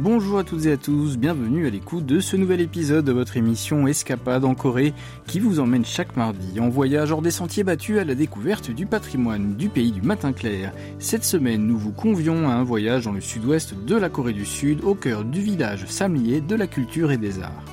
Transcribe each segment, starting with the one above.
Bonjour à toutes et à tous, bienvenue à l'écoute de ce nouvel épisode de votre émission Escapade en Corée qui vous emmène chaque mardi en voyage hors des sentiers battus à la découverte du patrimoine du pays du matin clair. Cette semaine, nous vous convions à un voyage dans le sud-ouest de la Corée du Sud, au cœur du village Samlyé de la culture et des arts.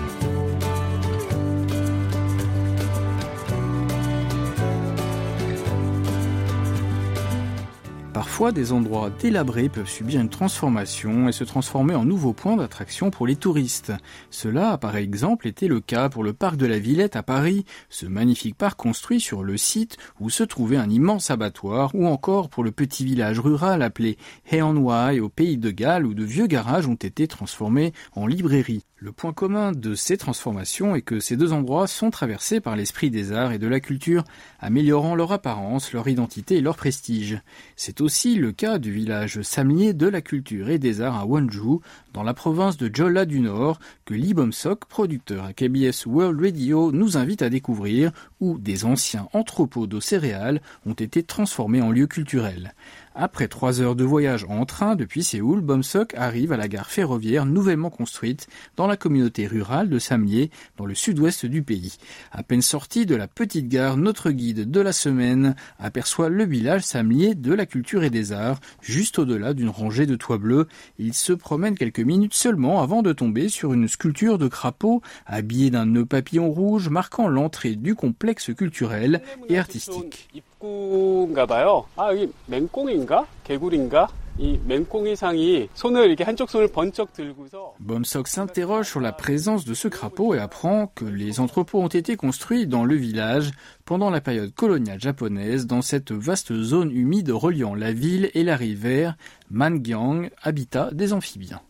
Parfois, des endroits délabrés peuvent subir une transformation et se transformer en nouveau point d'attraction pour les touristes. Cela a par exemple été le cas pour le parc de la Villette à Paris, ce magnifique parc construit sur le site où se trouvait un immense abattoir, ou encore pour le petit village rural appelé Haeonhwae au pays de Galles où de vieux garages ont été transformés en librairies. Le point commun de ces transformations est que ces deux endroits sont traversés par l'esprit des arts et de la culture, améliorant leur apparence, leur identité et leur prestige. C'est aussi le cas du village Samlyé de la culture et des arts à Wonju, dans la province de Jeolla du Nord, que Lee Bum-sok, producteur à KBS World Radio, nous invite à découvrir, où des anciens entrepôts de céréales ont été transformés en lieux culturels. Après 3 heures de voyage en train depuis Séoul, Bum-sok arrive à la gare ferroviaire nouvellement construite dans la communauté rurale de Samlyé, dans le sud-ouest du pays. À peine sorti de la petite gare, notre guide de la semaine aperçoit le village Samlyé de la culture et des arts, juste au-delà d'une rangée de toits bleus. Il se promène quelques minutes seulement avant de tomber sur une sculpture de crapaud habillée d'un nœud papillon rouge marquant l'entrée du complexe culturel et artistique. 입구인가봐요. 여기 맹꽁인가? 개구리인가? 이 맹꽁이상이 손을 이렇게 한쪽 손을 번쩍 들고서 Bum-sok s'interroge sur la présence de ce crapaud et apprend que les entrepôts ont été construits dans le village pendant la période coloniale japonaise dans cette vaste zone humide reliant la ville et la rivière Mangyang, habitat des amphibiens.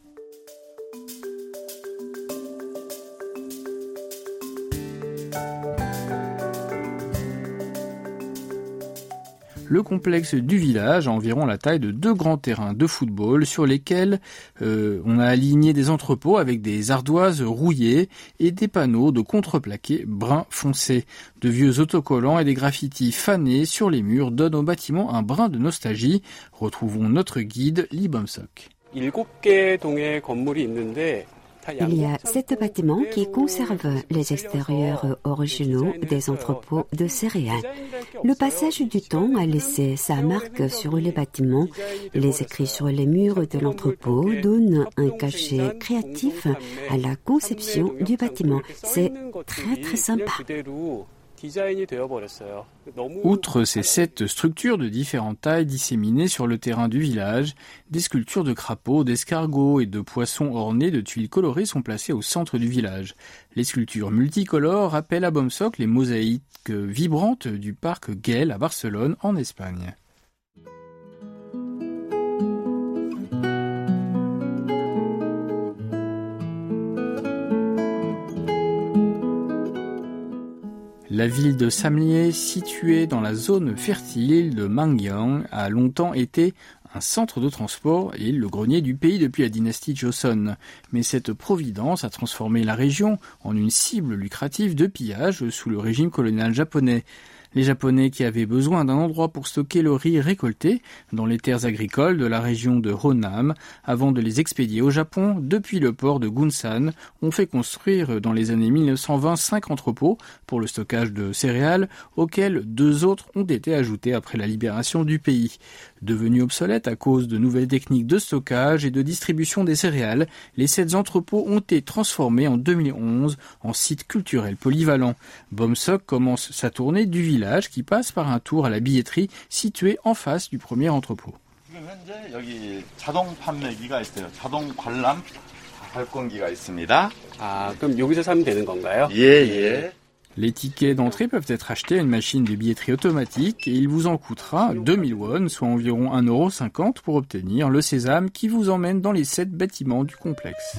Le complexe du village a environ la taille de 2 grands terrains de football sur lesquels on a aligné des entrepôts avec des ardoises rouillées et des panneaux de contreplaqué brun foncé. De vieux autocollants et des graffitis fanés sur les murs donnent au bâtiment un brin de nostalgie. Retrouvons notre guide Lee Bum-sok. 7개 동의 건물이 있는데 Il y a 7 bâtiments qui conservent les extérieurs originaux des entrepôts de céréales. Le passage du temps a laissé sa marque sur les bâtiments. Les écrits sur les murs de l'entrepôt donnent un cachet créatif à la conception du bâtiment. C'est très sympa. Outre ces 7 structures de différentes tailles disséminées sur le terrain du village, des sculptures de crapauds, d'escargots et de poissons ornés de tuiles colorées sont placées au centre du village. Les sculptures multicolores rappellent à Bum-sok les mosaïques vibrantes du parc Güell à Barcelone, en Espagne. La ville de Samlyé, située dans la zone fertile de Mangyang, a longtemps été un centre de transport et le grenier du pays depuis la dynastie Joseon. Mais cette providence a transformé la région en une cible lucrative de pillage sous le régime colonial japonais. Les Japonais qui avaient besoin d'un endroit pour stocker le riz récolté dans les terres agricoles de la région de Honam, avant de les expédier au Japon, depuis le port de Gunsan, ont fait construire dans les années 1920 5 entrepôts pour le stockage de céréales, auxquels 2 autres ont été ajoutés après la libération du pays. Devenus obsolètes à cause de nouvelles techniques de stockage et de distribution des céréales, les 7 entrepôts ont été transformés en 2011 en site culturel polyvalent. Bum-sok commence sa tournée du village qui passe par un tour à la billetterie située en face du premier entrepôt. 지금 현재 여기 자동 판매기가 있어요. 자동 관람 발권기가 있습니다. 그럼 여기서 사면 되는 건가요? 예. Les tickets d'entrée peuvent être achetés à une machine de billetterie automatique et il vous en coûtera 2000 won, soit environ 1,50 € pour obtenir le sésame qui vous emmène dans les 7 bâtiments du complexe.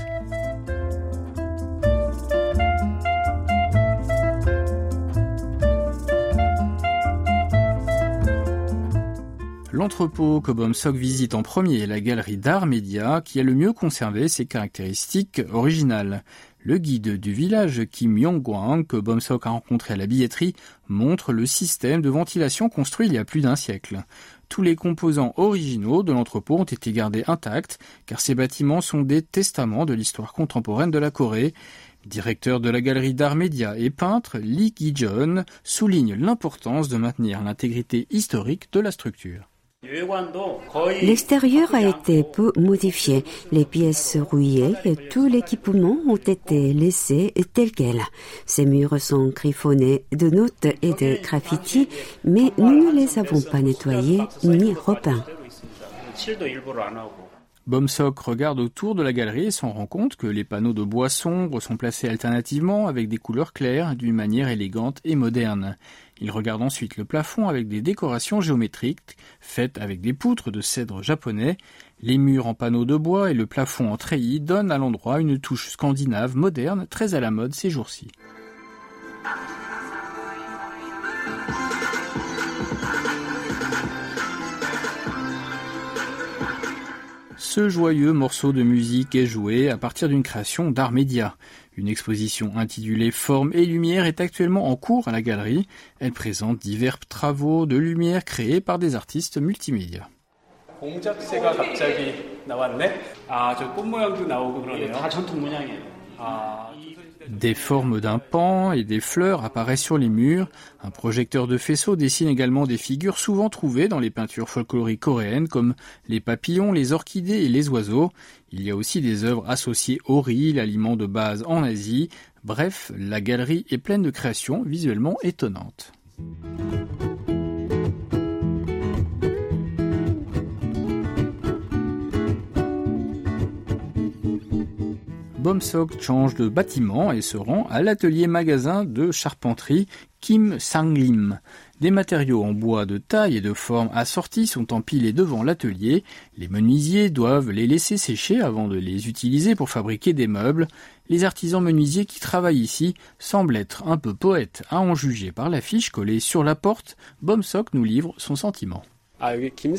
L'entrepôt que Bum-sok visite en premier est la galerie d'art média qui a le mieux conservé ses caractéristiques originales. Le guide du village Kim Yong-gwang, que Bomsok a rencontré à la billetterie, montre le système de ventilation construit il y a plus d'un siècle. Tous les composants originaux de l'entrepôt ont été gardés intacts, car ces bâtiments sont des testaments de l'histoire contemporaine de la Corée. Directeur de la galerie d'art média et peintre, Lee Gi-jeon souligne l'importance de maintenir l'intégrité historique de la structure. L'extérieur a été peu modifié, les pièces rouillées et tout l'équipement ont été laissés tels quels. Ces murs sont griffonnés de notes et de graffitis, mais nous ne les avons pas nettoyés ni repeints. Bomsok regarde autour de la galerie et s'en rend compte que les panneaux de bois sombres sont placés alternativement avec des couleurs claires d'une manière élégante et moderne. Il regarde ensuite le plafond avec des décorations géométriques faites avec des poutres de cèdre japonais. Les murs en panneaux de bois et le plafond en treillis donnent à l'endroit une touche scandinave moderne très à la mode ces jours-ci. Ce joyeux morceau de musique est joué à partir d'une création d'art média. Une exposition intitulée Formes et lumière est actuellement en cours à la galerie. Elle présente divers travaux de lumière créés par des artistes multimédia. 공작새가 갑자기 나왔네. 저 꽃 모양도 나오고 그러네요. 다 전통 모양이에요. Des formes d'un pan et des fleurs apparaissent sur les murs. Un projecteur de faisceau dessine également des figures souvent trouvées dans les peintures folkloriques coréennes comme les papillons, les orchidées et les oiseaux. Il y a aussi des œuvres associées au riz, l'aliment de base en Asie. Bref, la galerie est pleine de créations visuellement étonnantes. Bomsok change de bâtiment et se rend à l'atelier-magasin de charpenterie Kim Sang-lim. Des matériaux en bois de taille et de forme assortis sont empilés devant l'atelier. Les menuisiers doivent les laisser sécher avant de les utiliser pour fabriquer des meubles. Les artisans menuisiers qui travaillent ici semblent être un peu poètes, à en juger par l'affiche collée sur la porte. Bomsok nous livre son sentiment. Il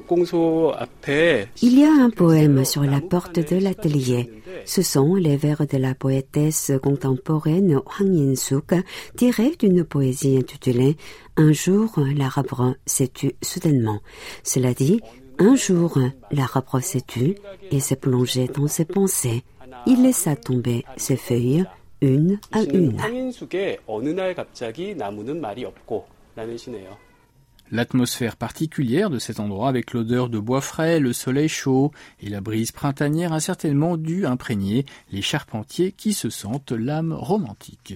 y a un poème sur la porte de l'atelier. Ce sont les vers de la poétesse contemporaine Hwang In-suk, tirés d'une poésie intitulée « Un jour, l'arbre s'est tu soudainement ». Cela dit, un jour, l'arbre s'est tu et s'est plongé dans ses pensées. Il laissa tomber ses feuilles une à une. L'atmosphère particulière de cet endroit avec l'odeur de bois frais, le soleil chaud et la brise printanière a certainement dû imprégner les charpentiers qui se sentent l'âme romantique.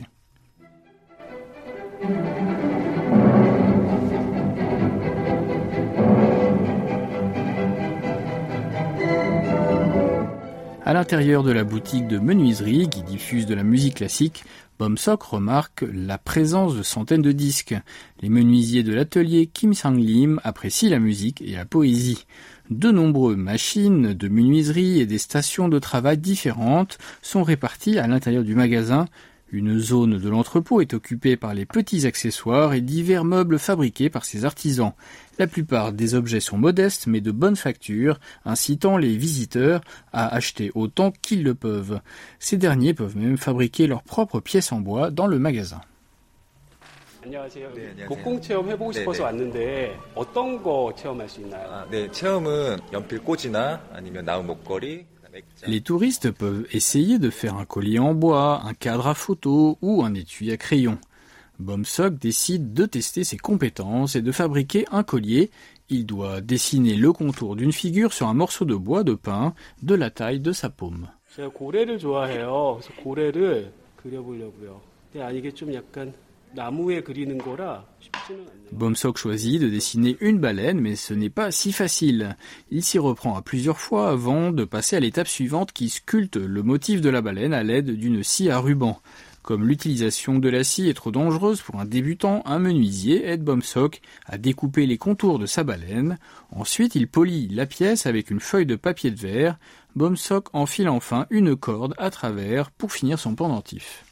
À l'intérieur de la boutique de menuiserie qui diffuse de la musique classique, Bomsok remarque la présence de centaines de disques. Les menuisiers de l'atelier Kim Sang-lim apprécient la musique et la poésie. De nombreuses machines de menuiserie et des stations de travail différentes sont réparties à l'intérieur du magasin. Une zone de l'entrepôt est occupée par les petits accessoires et divers meubles fabriqués par ces artisans. La plupart des objets sont modestes mais de bonne facture, incitant les visiteurs à acheter autant qu'ils le peuvent. Ces derniers peuvent même fabriquer leurs propres pièces en bois dans le magasin. 안녕하세요. 목공 체험 해보고 싶어서 왔는데 어떤 거 체험할 수 있나요? 네, 체험은 연필 꽂이나 아니면 나무 목걸이. Les touristes peuvent essayer de faire un collier en bois, un cadre à photo ou un étui à crayon. Bomsok décide de tester ses compétences et de fabriquer un collier. Il doit dessiner le contour d'une figure sur un morceau de bois de pin de la taille de sa paume. 제가 고래를 좋아해요. 그래서 고래를 그려보려고요. 근데 이게 좀 약간 나무에 그리는 거라 쉽지는 않네요. Bomsok choisit de dessiner une baleine, mais ce n'est pas si facile. Il s'y reprend à plusieurs fois avant de passer à l'étape suivante qui sculpte le motif de la baleine à l'aide d'une scie à ruban. Comme l'utilisation de la scie est trop dangereuse pour un débutant, un menuisier aide Bomsok à découper les contours de sa baleine. Ensuite, il polit la pièce avec une feuille de papier de verre. Bomsok enfile enfin une corde à travers pour finir son pendentif.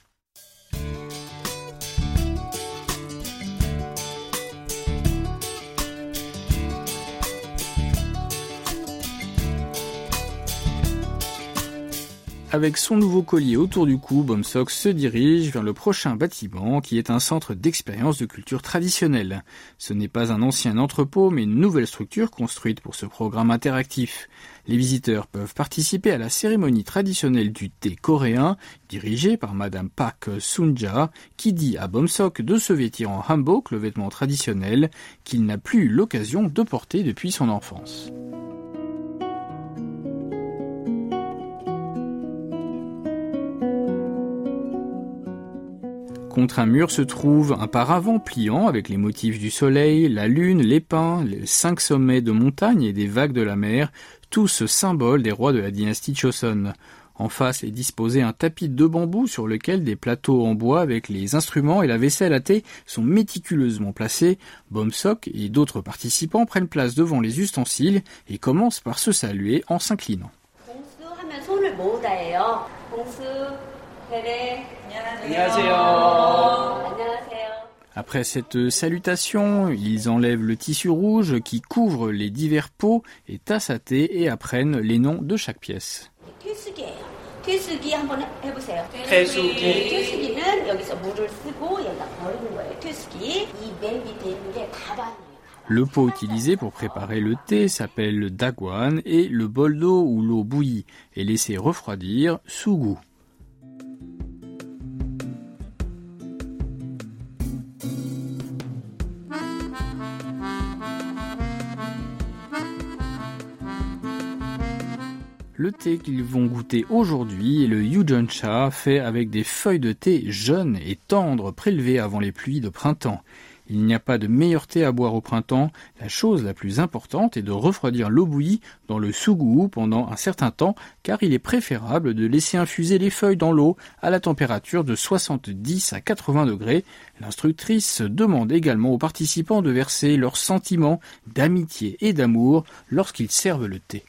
Avec son nouveau collier autour du cou, Bomsok se dirige vers le prochain bâtiment qui est un centre d'expérience de culture traditionnelle. Ce n'est pas un ancien entrepôt mais une nouvelle structure construite pour ce programme interactif. Les visiteurs peuvent participer à la cérémonie traditionnelle du thé coréen dirigée par Madame Park Sunja qui dit à Bomsok de se vêtir en hanbok, le vêtement traditionnel qu'il n'a plus eu l'occasion de porter depuis son enfance. Contre un mur se trouve un paravent pliant avec les motifs du soleil, la lune, les pins, les 5 sommets de montagnes et des vagues de la mer, tous symboles des rois de la dynastie Choson. En face est disposé un tapis de bambou sur lequel des plateaux en bois avec les instruments et la vaisselle à thé sont méticuleusement placés. Bomsok et d'autres participants prennent place devant les ustensiles et commencent par se saluer en s'inclinant. Après cette salutation, ils enlèvent le tissu rouge qui couvre les divers pots et tasses à thé et apprennent les noms de chaque pièce. Le pot utilisé pour préparer le thé s'appelle le dagwan et le bol d'eau où l'eau bouillie est laissée refroidir, sugu. Le thé qu'ils vont goûter aujourd'hui est le Yujeoncha, fait avec des feuilles de thé jeunes et tendres prélevées avant les pluies de printemps. Il n'y a pas de meilleur thé à boire au printemps. La chose la plus importante est de refroidir l'eau bouillie dans le sugu pendant un certain temps, car il est préférable de laisser infuser les feuilles dans l'eau à la température de 70 à 80 degrés. L'instructrice demande également aux participants de verser leurs sentiments d'amitié et d'amour lorsqu'ils servent le thé.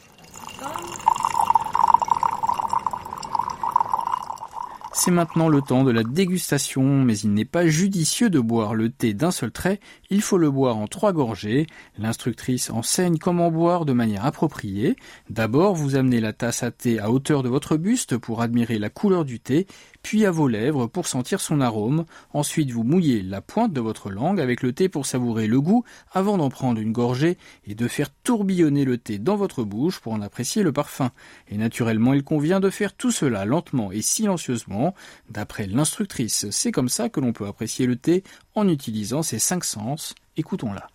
C'est maintenant le temps de la dégustation, mais il n'est pas judicieux de boire le thé d'un seul trait, il faut le boire en 3 gorgées. L'instructrice enseigne comment boire de manière appropriée. D'abord, vous amenez la tasse à thé à hauteur de votre buste pour admirer la couleur du thé, puis à vos lèvres pour sentir son arôme. Ensuite, vous mouillez la pointe de votre langue avec le thé pour savourer le goût avant d'en prendre une gorgée et de faire tourbillonner le thé dans votre bouche pour en apprécier le parfum. Et naturellement, il convient de faire tout cela lentement et silencieusement. D'après l'instructrice, c'est comme ça que l'on peut apprécier le thé en utilisant ses 5 sens. Écoutons-la.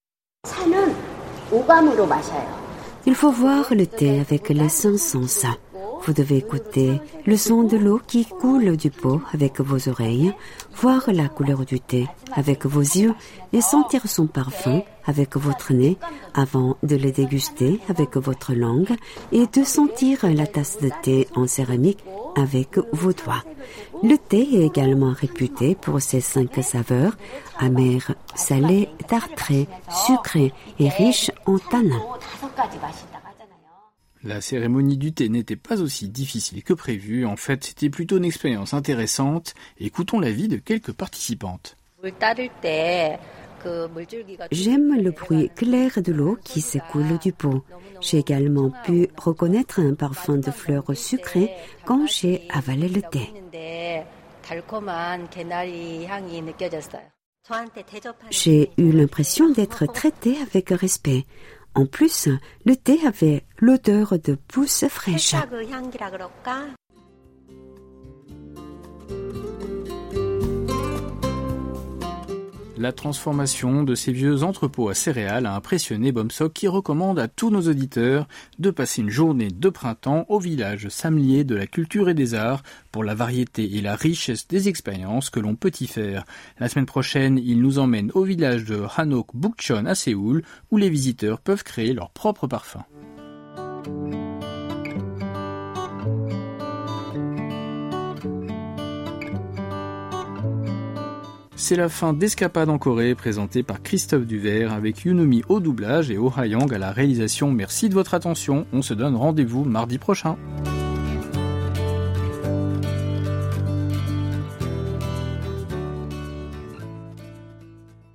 Il faut voir le thé avec les 5 sens. Vous devez écouter le son de l'eau qui coule du pot avec vos oreilles, voir la couleur du thé avec vos yeux et sentir son parfum avec votre nez avant de le déguster avec votre langue et de sentir la tasse de thé en céramique avec vos doigts. Le thé est également réputé pour ses 5 saveurs, amères, salées, tartrées, sucrées et riches en tanins. La cérémonie du thé n'était pas aussi difficile que prévu. En fait, c'était plutôt une expérience intéressante. Écoutons l'avis de quelques participantes. J'aime le bruit clair de l'eau qui s'écoule du pot. J'ai également pu reconnaître un parfum de fleurs sucrées quand j'ai avalé le thé. J'ai eu l'impression d'être traitée avec respect. En plus, le thé avait l'odeur de pousses fraîches. La transformation de ces vieux entrepôts à céréales a impressionné Bomsok qui recommande à tous nos auditeurs de passer une journée de printemps au village Samlier de la culture et des arts pour la variété et la richesse des expériences que l'on peut y faire. La semaine prochaine, il nous emmène au village de Hanok Bukchon à Séoul où les visiteurs peuvent créer leur propre parfum. C'est la fin d'Escapade en Corée, présentée par Christophe Duvert, avec Yunumi au doublage et Oh Ha-young à la réalisation. Merci de votre attention, on se donne rendez-vous mardi prochain.